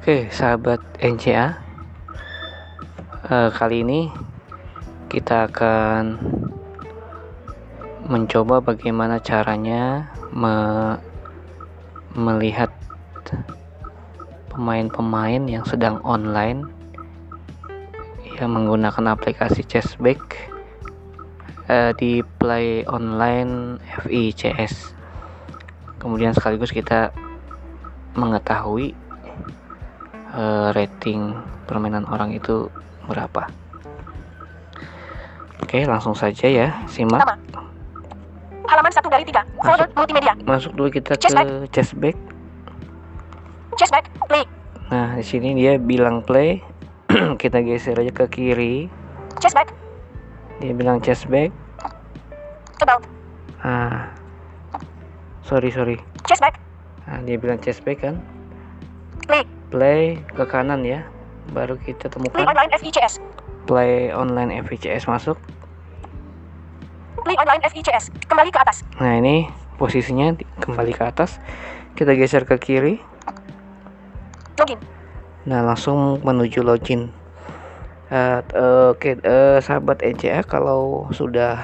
Oke, sahabat NCA, kali ini kita akan mencoba bagaimana caranya melihat pemain-pemain yang sedang online yang menggunakan aplikasi Chessback di Play Online FICS. Kemudian sekaligus kita mengetahui rating permainan orang itu berapa. Oke, langsung saja ya, simak. Halaman 1 dari 3, folder multimedia. Masuk dulu kita ke Chessback. Chessback, play. Nah, di sini dia bilang play. Kita geser aja ke kiri. Chessback. Dia bilang Chessback. About. Sorry. Chessback. Nah, dia bilang Chessback kan. Play ke kanan ya. Baru kita temukan Play online FICS. Play online FICS, masuk. Play online FICS. Kembali ke atas. Nah, ini posisinya kembali ke atas. Kita geser ke kiri. Login. Nah, langsung menuju login. Sahabat NCA, kalau sudah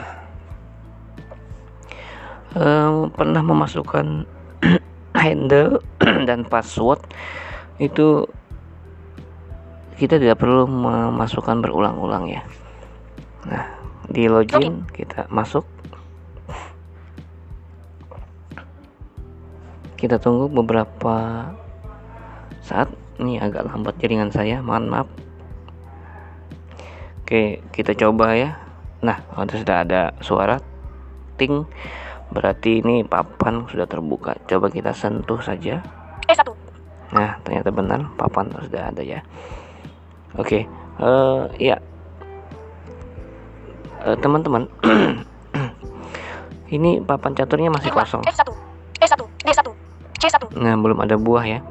pernah memasukkan handle dan password, itu kita tidak perlu memasukkan berulang-ulang ya. Nah, di login kita masuk. Kita tunggu beberapa saat. Ini agak lambat jaringan saya, mohon maaf. Oke, kita coba ya. Nah, sudah ada suara ting, berarti ini papan sudah terbuka. Coba kita sentuh saja. E1. Nah, ternyata benar, papan sudah ada ya. Oke, ya, teman-teman. Ini papan caturnya masih kosong. F1, E1, D1, C1. Nah, belum ada buah ya.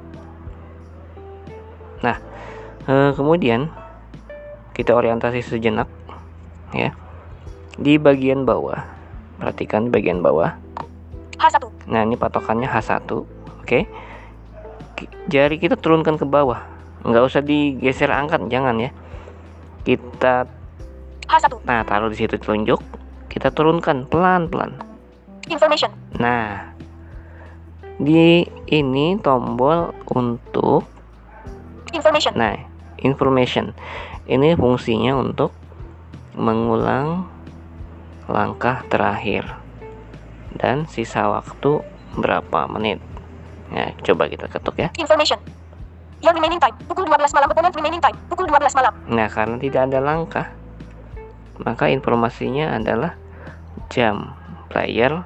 Nah, kemudian kita orientasi sejenak ya. Di bagian bawah, perhatikan di bagian bawah. H1. Nah, ini patokannya H1. Oke. Jari kita turunkan ke bawah. Nggak usah digeser, angkat, jangan ya. Kita H1. Nah, taruh di situ telunjuk. Kita turunkan pelan-pelan. Information. Nah, di ini tombol untuk Information. Nah, information ini fungsinya untuk mengulang langkah terakhir dan sisa waktu berapa menit. Nah, coba kita ketuk ya. Information. Your remaining time, pukul 12 malam. Opponent remaining time, pukul 12 malam. Nah, karena tidak ada langkah, maka informasinya adalah jam player.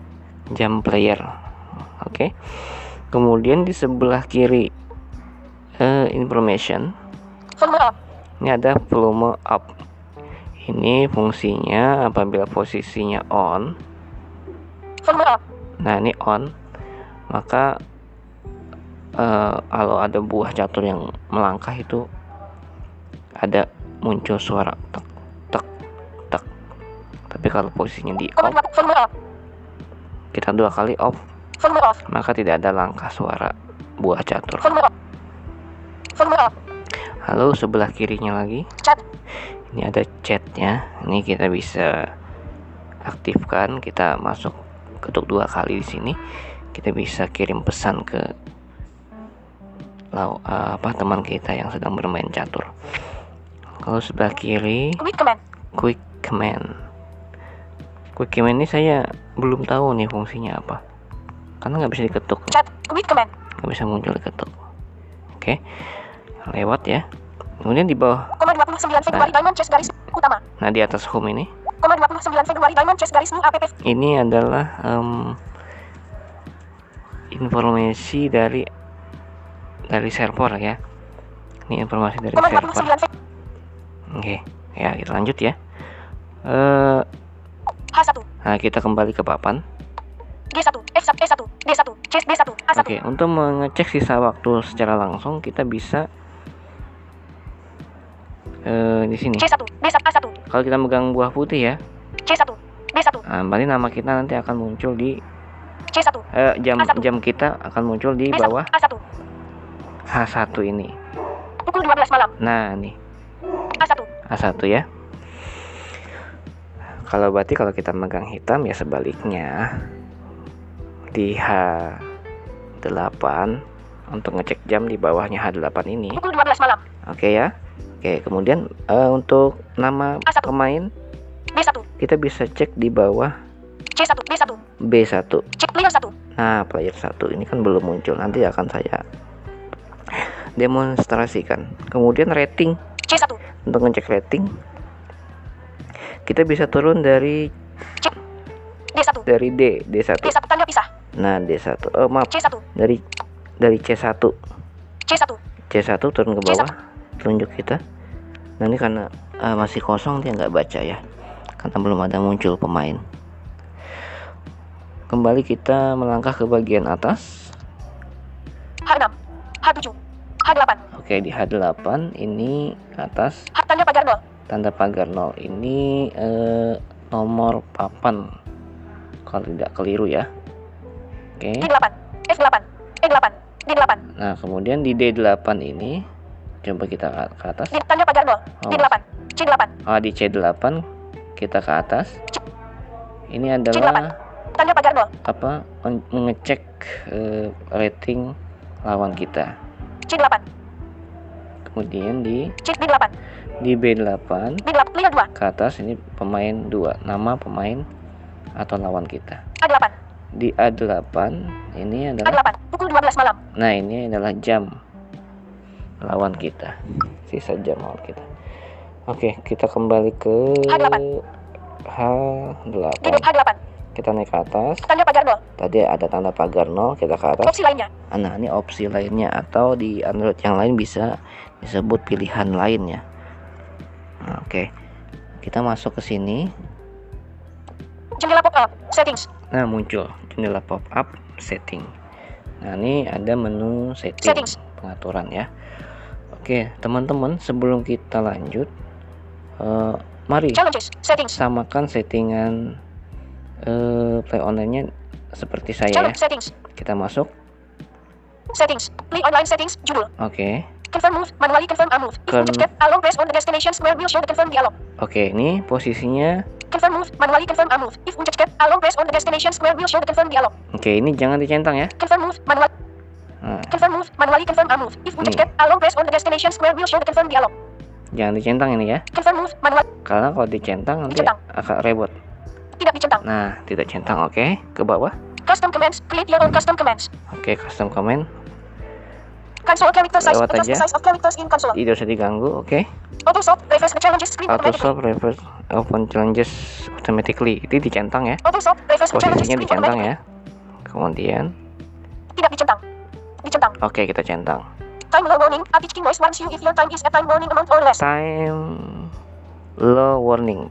Oke. Kemudian di sebelah kiri information, Volume up. ini ada volume up. Ini fungsinya apabila posisinya on. Volume up. Nah, ini on, maka kalau ada buah catur yang melangkah itu ada muncul suara tek tek tek. Tapi kalau posisinya di off, Volume up. kita 2 kali off, Volume off. maka tidak ada langkah suara buah catur. Volume up. Volume up. Lalu sebelah kirinya lagi, Chat. ini ada chatnya. Ini kita bisa aktifkan. Kita masuk, ketuk 2 kali di sini. Kita bisa kirim pesan ke teman kita yang sedang bermain catur. Kalau sebelah kiri, quick command ini saya belum tahu nih fungsinya apa, karena nggak bisa diketuk. Chat. Quick command. Nggak bisa muncul diketuk. Oke, lewat ya. Kemudian di bawah, 29 Februari Diamond Chess garis utama. nah di atas home ini, 29 Februari Diamond Chess garis new app. ini adalah informasi dari server ya. Ini informasi dari server. Oke, ya kita lanjut ya. H1. Nah, kita kembali ke papan. G1, F1, E1, D1, Chess D1, A1. Oke, untuk mengecek sisa waktu secara langsung, kita bisa di sini. C1, D1, A1. Kalau kita megang buah putih ya, C1, D1. nah, berarti nama kita nanti akan muncul di C1. jam kita akan muncul di bawah A1. H1 ini. Pukul 12 malam. Nah, nih A1. A1 ya. Kalau berarti kalau kita megang hitam ya sebaliknya. Di H8 untuk ngecek jam di bawahnya H8 ini. Pukul 12 malam. Oke ya. Oke, kemudian untuk nama A1. pemain B1. kita bisa cek di bawah C1. B1. B1. Cek player 1. Nah, player 1 ini kan belum muncul. Nanti akan saya demonstrasikan. Kemudian rating. C1. Untuk ngecek rating kita bisa turun dari Cek D1. dari D1. D1 tanda pisah. Nah, D1. Oh, maaf. C1. Dari C1. C1. C1 turun ke bawah. Tunjuk kita. Nah, ini karena masih kosong dia nggak baca ya. Karena belum ada muncul pemain. Kembali kita melangkah ke bagian atas. H6. H7. H8. Oke, di H8 ini atas H tanda pagar 0. tanda pagar 0 ini nomor papan kalau tidak keliru ya. Oke. D8. F8. E8. D8. Nah, kemudian di D8 ini coba kita ke atas. D tanda pagar 0. D8. C8. Di C8 kita ke atas. Ini C8. adalah Tanda pagar 0. apa? Mengecek rating lawan kita. C8. Kemudian di D8. B8 D8 player 2. ke atas ini pemain 2, nama pemain atau lawan kita. A8. Di A8 ini adalah A8. Pukul 12 malam. nah, ini adalah jam lawan kita. Sisa jam lawan kita. Oke, kita kembali ke H8. H8. H8. Kita naik ke atas. Tanda pagar 0. Tadi ada tanda pagar 0, kita ke atas. Opsi lainnya. Nah, ini opsi lainnya atau di Android yang lain bisa disebut pilihan lainnya. Nah, oke. Kita masuk ke sini. Jendela pop-up. Settings. Nah, muncul jendela pop-up setting. Nah, ini ada menu setting, Settings. pengaturan ya. Oke, teman-teman, sebelum kita lanjut, mari Challenges. Settings. samakan settingan play online-nya seperti saya ya. Challenge settings. Kita masuk. Settings. Play online settings. Judul. Oke. Confirm move. Manually confirm a move. If Confirm. eject along press on the destination square will show the confirm dialog. Oke, ini posisinya. Confirm move. Manually confirm a move. If eject along press on the destination square will show the confirm dialog. Oke, ini jangan dicentang ya. Confirm move. Manual. Nah, Confirm move. Manually confirm a move. If eject along press on the destination square will show the confirm dialog. jangan dicentang ini ya. Confirm move. Manual. Karena kalau dicentang nanti Dicentang. agak ribet. Tidak dicentang. Nah, tidak centang. Oke, ke bawah. Custom commands. Create your own custom commands. Oke, custom comment. Console character size. Lewat Adjust the aja. size of characters in console. Tidak usah diganggu. Oke. Auto solve. Reverse the challenges screen Auto automatically. solve reverse open challenges automatically. Itu dicentang ya. Auto solve. Reverse the challenges Posisinya screen dicentang automatically. ya. Kemudian, Tidak dicentang. Dicentang. oke, kita centang. Time low warning. A teaching voice warns you if your time is a time warning amount or less. Time low warning.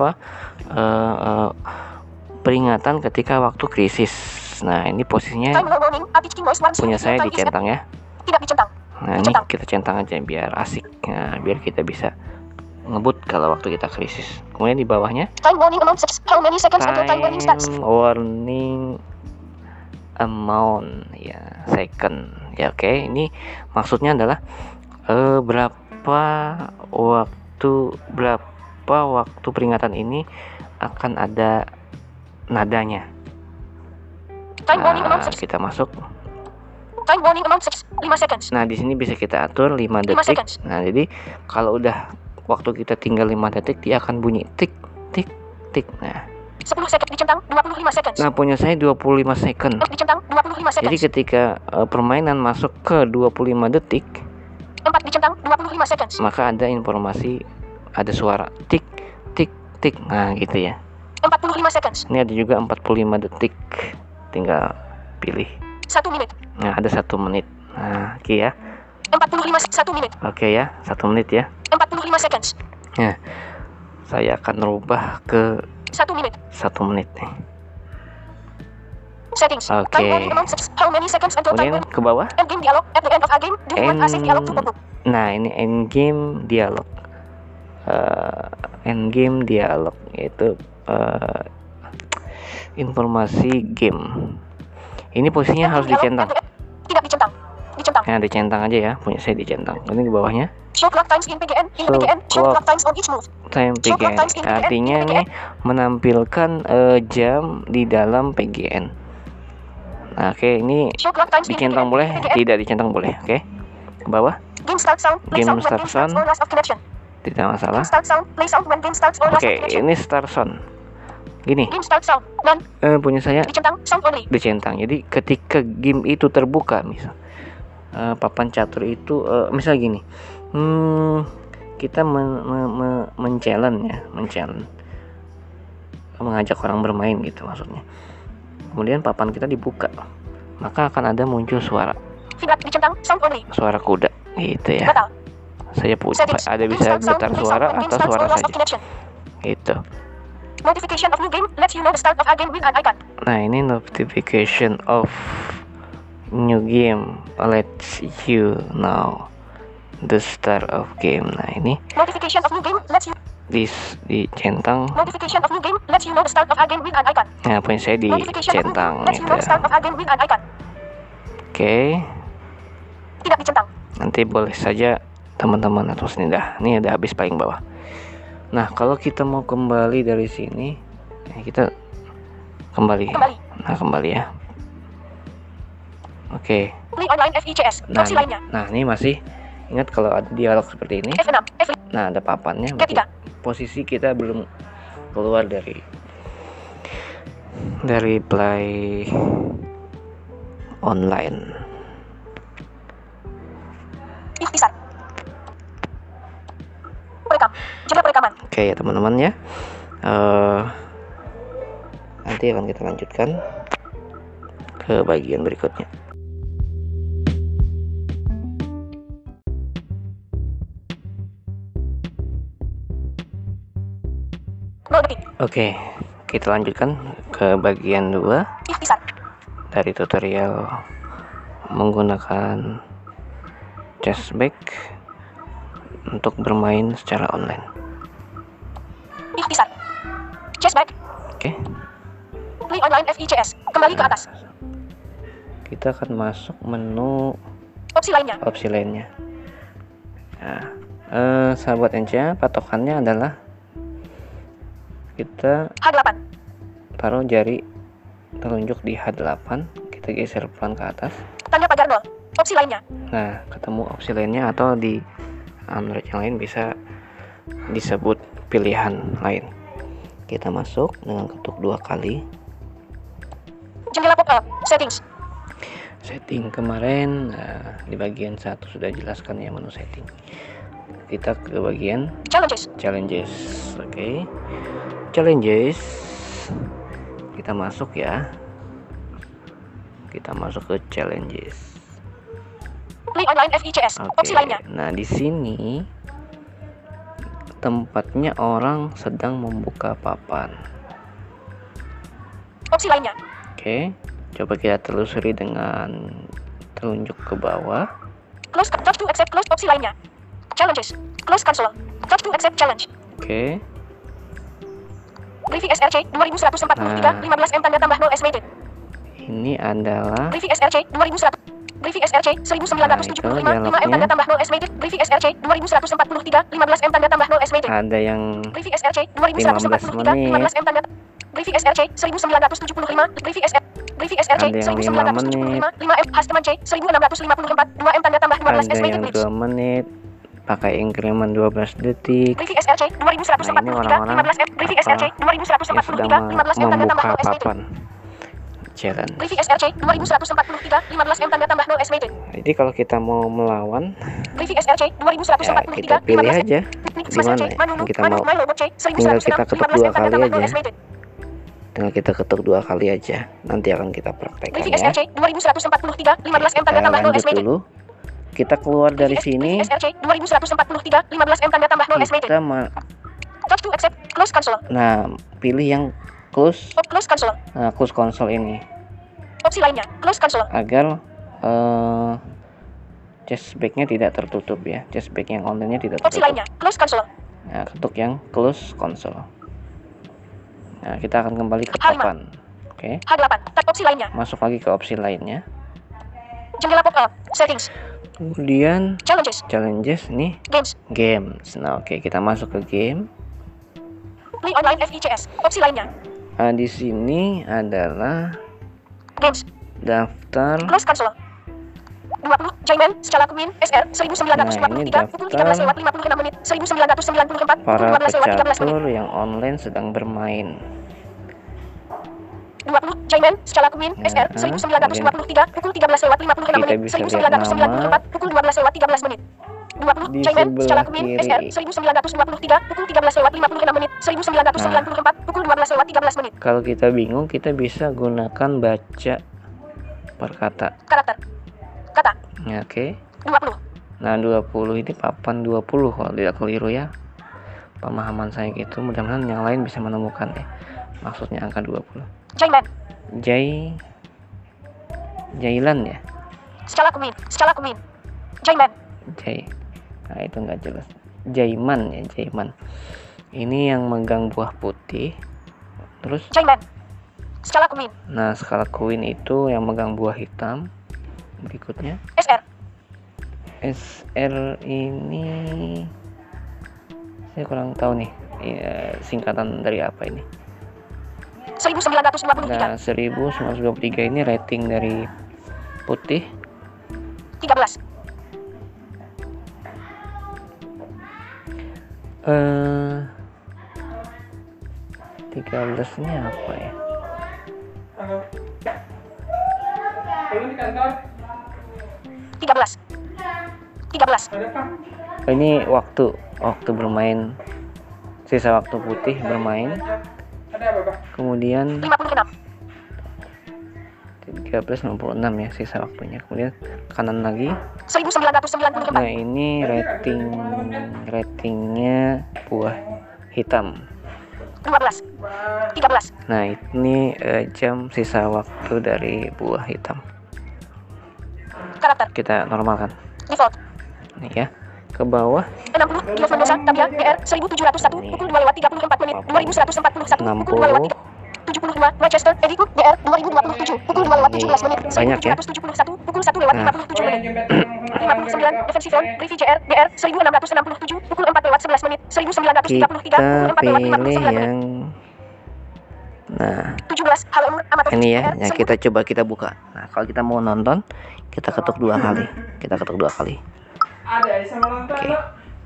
Peringatan ketika waktu krisis. Nah, ini posisinya Time low warning. A teaching voice warns you punya if your saya time is a... dicentang ya. Tidak dicentang. Nah, ini Dicentang. kita centang aja biar asik. Nah, biar kita bisa ngebut kalau waktu kita krisis. Kemudian di bawahnya Time warning amount 6. How many seconds until time warning starts? time warning amount ya, second ya. Oke, ini maksudnya adalah berapa waktu peringatan ini akan ada nadanya. Time warning amount Nah, 6. kita masuk. Time warning amount 6. 5 seconds. Nah, di sini bisa kita atur 5 5 detik. seconds. Nah, jadi kalau udah waktu kita tinggal 5 detik, dia akan bunyi tik tik tik. Nah, 10 seconds dicentang. 25 seconds. nah punya saya 25 second. Dicentang. 25 seconds. Jadi ketika permainan masuk ke 25 detik, 4 dicentang. 25 seconds. maka ada informasi, ada suara tik tik tik. Nah, gitu ya. 45 seconds. Ini ada juga 45 detik. Tinggal pilih. 1 menit. Nah, ada 1 menit. Nah, oke ya. 45 1 menit. Oke ya, 1 menit ya. 45 seconds. Nah, saya akan rubah ke 1 menit. 1 menit nih. Settings. Oke. Time warning amount 6. How many seconds until time Kemudian warning? ke bawah. End game dialog. At the end of a game, do you want a save dialog to pop up? Nah, ini end game dialog. End game dialog yaitu informasi game. Ini posisinya harus Dialog dicentang. at the end. Tidak dicentang. Dicentang. Nah, dicentang aja ya, punya saya dicentang. Ini di bawahnya. Show clock times in PGN. In Show PGN, show clock clock times on each move. Time Show clock PGN. times in PGN. Artinya in nih PGN. menampilkan jam di dalam PGN. Nah, oke, ini Show clock times in dicentang PGN. boleh, PGN. tidak dicentang boleh. Oke. Ke bawah, Game start sound. Play Game sound when start game starts sound. or last of connection. tidak masalah. Game start sound. Play sound when game starts or last Oke, of connection. ini start sound. Gini, Game start sound. None. punya saya Dicentang. Sound only. dicentang. Jadi ketika game itu terbuka, misal papan catur itu misal gini, kita men-challenge ya, mengajak orang bermain gitu maksudnya. Kemudian papan kita dibuka, maka akan ada muncul suara Feedback dicentang. Sound only. kuda gitu ya. Batal. Saya punya Settings. ada Game bisa start sound. getar Play suara sound when game atau starts suara or last of saja connection. gitu. Notification of new game lets you know the start of a game with an icon. Nah, ini notification of new game lets you know the start of game. Nah, ini Notification of new game lets you. dicentang. Notification of new game lets you know the start of a game with an icon. Nah, poin saya Notification of new dicentang game lets you gitu know the ya. start of a game with an icon. Oke, Tidak dicentang. nanti boleh saja teman-teman atau sini dah. Ini udah habis paling bawah. Nah, kalau kita mau kembali dari sini, kita kembali. Kembali. Nah, kembali ya. Oke. Play online FICS. Nah, Opsi lainnya. ini masih ingat kalau ada dialog seperti ini. F6. F5. Nah, ada papannya. Ketiga. berarti posisi kita belum keluar dari play online. Ikhtisar. Perekam. Jeda perekaman. Oke ya teman-teman ya. Nanti akan kita lanjutkan ke bagian berikutnya. Oke, kita lanjutkan ke bagian 2 Ikhtisar. dari tutorial menggunakan Chessback untuk bermain secara online. Ikhtisar. Chessback. Oke, Play online FICS. Kembali ke atas. kita akan masuk menu Opsi lainnya. opsi lainnya. Nah, sahabat Enca, patokannya adalah kita H8. taruh jari telunjuk di H8, kita geser pelan ke atas. Tanda pagar 0. Opsi lainnya. Nah, ketemu opsi lainnya atau di Android yang lain bisa disebut pilihan lain. Kita masuk dengan ketuk 2 kali. Jendela pop-up. Settings. Setting kemarin di bagian 1 sudah jelaskan ya menu setting. Kita ke bagian Challenges. Oke. Challenges. Kita masuk ya. Kita masuk ke challenges. Play online FICS. Oke. Opsi lainnya. Nah, di sini tempatnya orang sedang membuka papan. Opsi lainnya. Oke. Coba kita telusuri dengan telunjuk ke bawah. Close. Touch to accept close. Opsi lainnya. Challenges. Close console. Touch to accept challenge. Oke. Briefy SRC 2143 15M tanda tambah 0 estimated. Ini adalah Briefy SRC 2100. Briefy SRC 1975 5M tanda tambah 0 estimated. Briefy SRC 2143 15M tanda tambah 0 estimated. ada yang Briefy SRC 2143 15M tanda. Briefy SRC 1975. Briefy SRC Ada yang 1975 5M Hasteman C 1654 2M tanda tambah 15 ada estimated yang clips. 2 menit pakai increment 12 detik. Briefy SRC 2143 15M. Briefy SRC yang sedang 2143 15M tanda tambah 0 membuka estimated. papan challenge. Briefy SRC 2143 15M tanda tambah 0 estimated. Jadi kalau kita mau melawan, Briefy SRC ya kita 2143 pilih 15M. aja gimana ya yang kita mau. Tinggal kita ketuk 2 kali aja. Tinggal kita ketuk 2 kali aja. Nanti akan kita praktekkan Briefy ya. SRC 2143 15M tanda Kita tambah 0 lanjut estimated. dulu. Kita keluar dari sini. Briefy SRC 2143 15M tanda tambah 0 estimated. Kita Touch to accept close console. nah, pilih yang close. Close console. Nah, close console ini Opsi lainnya. Close console. agar chessback-nya tidak tertutup ya. Chessback yang online-nya tidak Opsi tertutup. lainnya. Close console. Nah, ketuk yang close console. Nah, kita akan kembali ke H5. papan. Oke. H8. Tab opsi lainnya. Masuk lagi ke opsi lainnya. Jendela pop-up. Settings. Kemudian Challenges. nih games. Nah, oke, kita masuk ke game. Play online FICS. Opsi lainnya. Nah, di sini adalah Games. daftar. Close console. 20 Jaiman Scala Queen SR 1923 pukul 13:56 menit 1994 para pukul 12:13 menit. pecatur yang online sedang bermain. 20 Jaiman Scala Queen SR 1923 pukul 13:56 menit 1994 pukul 12:13 menit. 20 Di Jaiman Scala sebelah Queen kiri. SR 1923 pukul 13:56 menit 1994 pukul 12:13 menit. Kalau kita bingung, kita bisa gunakan baca per kata. Karakter. Kata. Ya, oke. 20. Nah, 20 ini papan 20 kalau tidak keliru ya. Pemahaman saya gitu. Mudah-mudahan yang lain bisa menemukan ya. Maksudnya angka 20. Jaiman. Jailan ya. Scala Queen. Jaiman. Nah, itu nggak jelas. Jaiman ya, Jaiman. Ini yang megang buah putih. Terus Jaiman. Scala Queen. nah, skala Queen itu yang megang buah hitam. Berikutnya SR ini saya kurang tahu nih singkatan dari apa ini. 1923. Nah, 1923 ini rating dari putih 13. 13 ini apa ya? Halo. Belum di kantor? 13. Ada apa? Ini waktu bermain, sisa waktu putih bermain. Ada apa, Pak? Kemudian 56. 13.66 ya sisa waktunya. Kemudian kanan lagi. 1994. Nah, ini ratingnya buah hitam. 12. 13. Nah, ini jam sisa waktu dari buah hitam. Karakter. Kita normalkan. Default. Nih ya. Ke bawah 60. Diof Mendoza Tabia BR 1701 pukul 2:34 menit 2141 pukul 2:72 Manchester Eddie Cook BR 2027 pukul 2:17 menit Banyak ya. 1971 pukul 1:57 menit. 59 Defensive Zone Rivi JR BR 1667 pukul 4:11 menit 1933 pukul kita 4:59 pilih menit. yang nah 17 Hal Umur Amator ini ya. BR Nah, kita buka. Nah, kalau kita mau nonton, kita ketuk 2 kali. Ada sama nonton lo.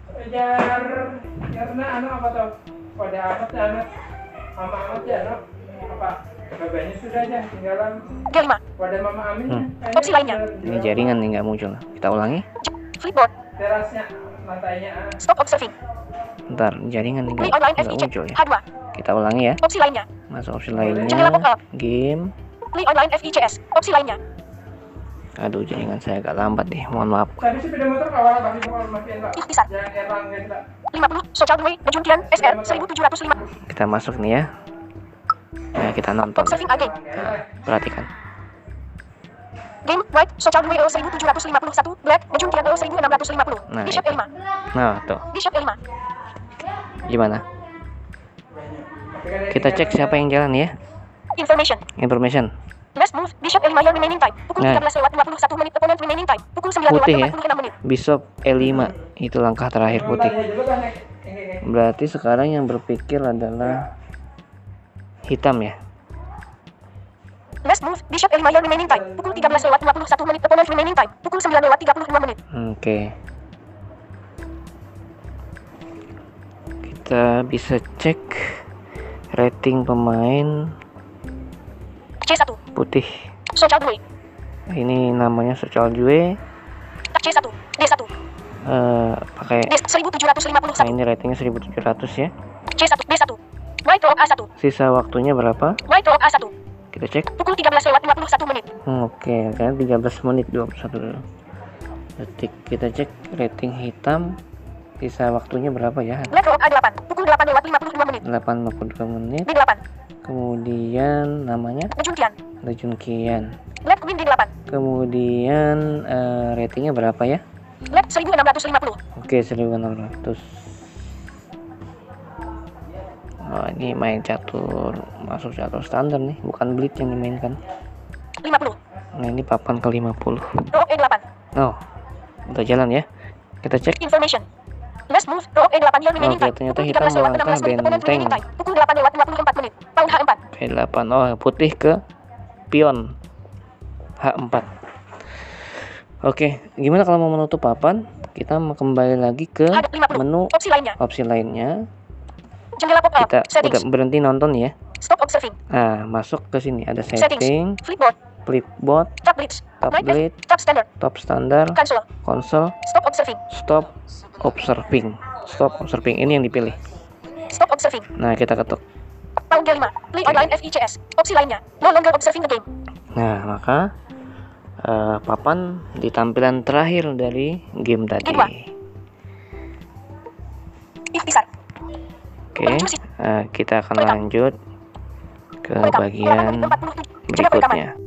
Karena apa tuh? Pada amat ya anak. Mama amat ya anak. Apa? Babanya sudah aja tinggalan. G5. Pada Mama Amin. Opsi lainnya. Ini jaringan nih nggak muncul. Kita ulangi. Flipboard. Terasnya lantainya. Stop observing. Ntar jaringan nih Play online nggak FIC muncul ya. H2. Kita ulangi ya. Opsi lainnya. Masuk opsi Jendela lainnya. pop-up. Game. Play online FICS. Opsi lainnya. Aduh, jaringan saya agak lambat deh. Mohon maaf. Tadi sepeda motor kawal tapi bukan makin Pak. Ikhtisar. Jangan erang guys, Pak. 50 Social Way Juntian SR 1705. Kita masuk nih ya. Nah, kita nonton. Observing again. Perhatikan. Game White Social Way 1751 Black Juntian 1650. Nah, Bishop itu. E5. Nah, tuh. Bishop E5. Gimana? Kita cek siapa yang jalan ya. Information. Last move Bishop E5 your remaining time. Pukul Nah. 13:21 menit opponent remaining time. Pukul Putih ya. 9:46 menit. Bishop E5. Itu langkah terakhir putih. Berarti sekarang yang berpikir adalah hitam ya. Last move Bishop E5 your remaining time. Pukul 13:51 menit opponent remaining time. Pukul 9:35 menit. Oke. Kita bisa cek rating pemain C1 putih. Social Way. Ini namanya Social Jue. C1 D1 Pakai D 1751. nah, ini ratingnya 1700 ya. C1 D1 White Rock A1. Sisa waktunya berapa? White Rock A1. Kita cek. Pukul 13:51 menit. Oke, kan 13 menit 21 detik. Kita cek rating hitam. Sisa waktunya berapa ya? Black Rock A8. Pukul 8:52 menit. 82 menit. D8 Kemudian namanya Juntian. Junkian. Black Queen D8. Kemudian ratingnya berapa ya? Black 1650. Oke, 1600. Oh, ini main catur, masuk catur standar nih, bukan blitz yang dimainkan. 50 Nah, ini papan ke-50. Row E8. Oh, udah jalan ya. Kita cek. Information. Last move, row E8 yang remaining Oke, time. ternyata Pukul hitam 13 lewat melangkah 16 menit. Opponent benteng. remaining time. Pukul 8 lewat 24 menit. Pawn H4. P8. Oh, putih ke pion H4. Oke, gimana kalau mau menutup papan? Kita kembali lagi ke Ada 50. menu Opsi lainnya. Kita Jendela pop-up. udah Settings. berhenti nonton ya. Stop observing. Nah, masuk ke sini ada Settings. setting, Flipboard. flipboard, Tab blitz. Night tablet, F. Tab standard. top standar, Cancel. konsol, Stop observing. stop observing. Stop observing ini yang dipilih. Stop observing. Nah, kita ketuk. Pawn G5. Play online FICS. Opsi lainnya. No longer observing the game. Nah, maka papan di tampilan terakhir dari game tadi. Kedua. Ikhtisar. Oke, kita akan lanjut ke bagian Coba berikutnya.